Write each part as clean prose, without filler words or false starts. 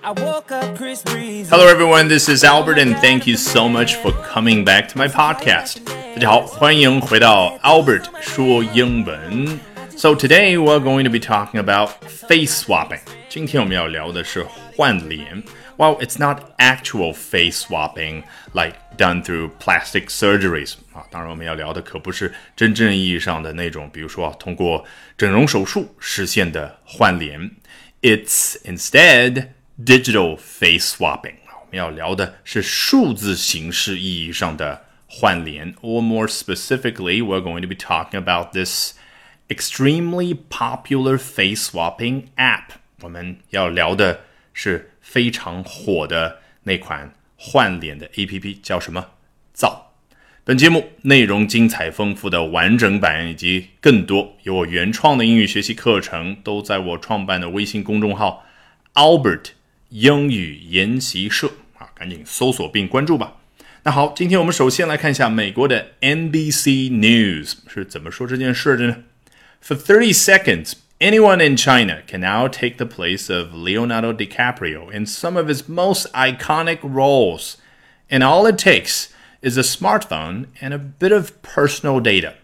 Hello everyone, this is Albert and thank you so much for coming back to my podcast. 大家好，欢迎回到 Albert 说英文。So today we're going to be talking about face swapping. 今天我们要聊的是换脸。Well, it's not actual face swapping like done through plastic surgeries. 当然我们要聊的可不是真正意义上的那种，比如说通过整容手术实现的换脸。It's instead digital face swapping. 我们要聊的是数字形式意义上的换脸。Or more specifically, we're going to be talking about this extremely popular face swapping app. 我们要聊的是非常火的那款换脸的 APP， 叫什么？造。本节目内容精彩丰富的完整版以及更多有我原创的英语学习课程都在我创办的微信公众号 Albert 英语研习社赶紧搜索并关注吧。那好，今天我们首先来看一下美国的 NBC News 是怎么说这件事的呢？ For 30 seconds, anyone in China can now take the place of Leonardo DiCaprio in some of his most iconic roles. And all it takes is a smartphone and a bit of personal data.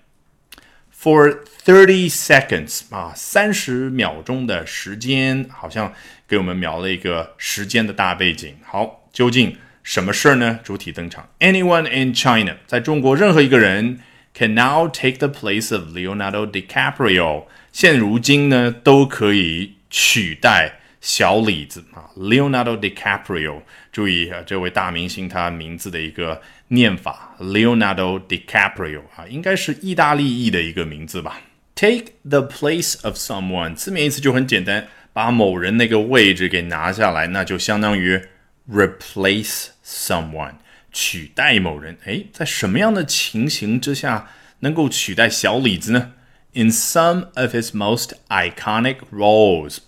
For 30 seconds, 30秒钟的时间，好像给我们描了一个时间的大背景。好，究竟什么事呢？主体登场 Anyone in China, 在中国任何一个人 can now take the place of Leonardo DiCaprio. 现如今呢，都可以取代小李子Leonardo DiCaprio. 注意这位大明星他名字的一个念法 Leonardo DiCaprio 应该是意大利裔的一个名字吧。Take the place of someone 字面意思就很简单，把某人那个位置给拿下来，那就相当于 replace someone 取代某人。在什么样的情形之下能够取代小李子呢？ In some of his most iconic roles.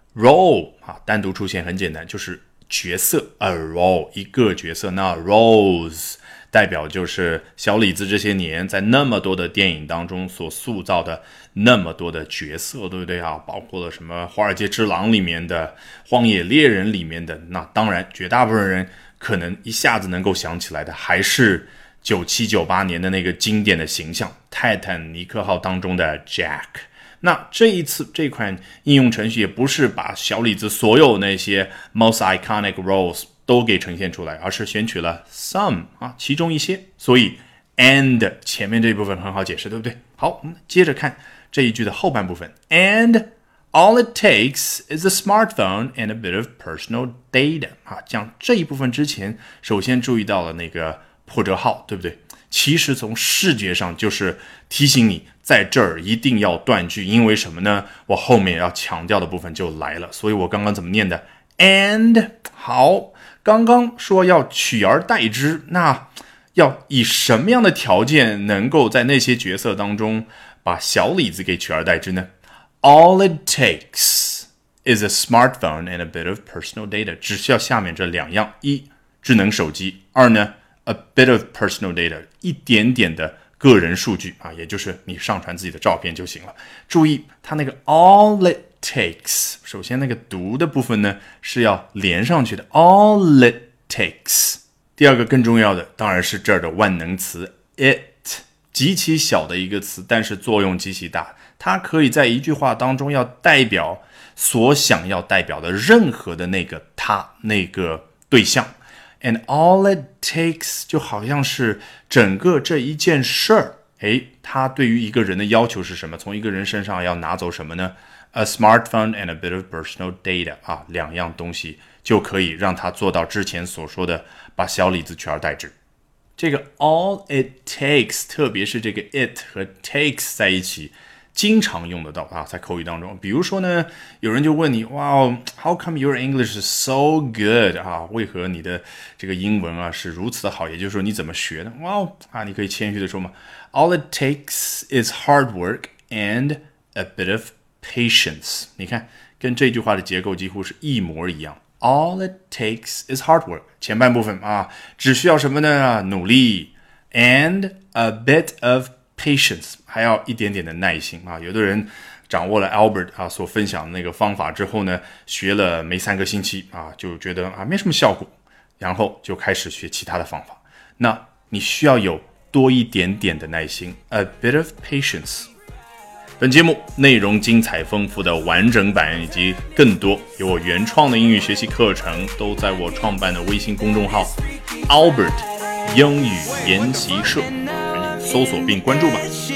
Role 单独出现很简单，就是角色 a role 一个角色。那 roles 代表就是小李子这些年在那么多的电影当中所塑造的那么多的角色，对不对包括了什么华尔街之狼里面的，荒野猎人里面的，那当然绝大部分人可能一下子能够想起来的还是97、98年的那个经典的形象泰坦尼克号当中的 Jack。那这一次这款应用程序也不是把小李子所有那些 most iconic roles 都给呈现出来，而是选取了 some 其中一些，所以 and 前面这一部分很好解释，对不对？好，我们接着看这一句的后半部分 And all it takes is a smartphone and a bit of personal data 讲这一部分之前首先注意到了那个破折号，对不对？其实从视觉上就是提醒你在这儿一定要断句，因为什么呢？我后面要强调的部分就来了，所以我刚刚怎么念的 And 好，刚刚说要取而代之，那要以什么样的条件能够在那些角色当中把小李子给取而代之呢？ All it takes is a smartphone and a bit of personal data. 只需要下面这两样，一智能手机，二呢A bit of personal data 一点点的个人数据也就是你上传自己的照片就行了。注意它那个 all it takes 首先那个读的部分呢是要连上去的 all it takes。 第二个更重要的当然是这儿的万能词 it 极其小的一个词，但是作用极其大，它可以在一句话当中要代表所想要代表的任何的那个他那个对象。And all it takes 就好像是整个这一件事儿，它对于一个人的要求是什么？从一个人身上要拿走什么呢？ A smartphone and a bit of personal data 两样东西就可以让他做到之前所说的把小李子取而代之。这个 all it takes 特别是这个 it 和 takes 在一起经常用得到在口语当中。比如说呢，有人就问你 Wow, how come your English is so good 为何你的这个英文是如此的好，也就是说你怎么学的？ Wow, 你可以谦虚的说嘛 All it takes is hard work and a bit of patience. 你看跟这句话的结构几乎是一模一样。 All it takes is hard work 前半部分只需要什么呢？努力 and a bit of patience 还要一点点的耐心有的人掌握了 Albert 所分享的那个方法之后呢，学了没3个星期就觉得没什么效果，然后就开始学其他的方法。那你需要有多一点点的耐心 ，a bit of patience。本节目内容精彩丰富的完整版以及更多有我原创的英语学习课程，都在我创办的微信公众号 Albert 英语研习社，搜索并关注吧。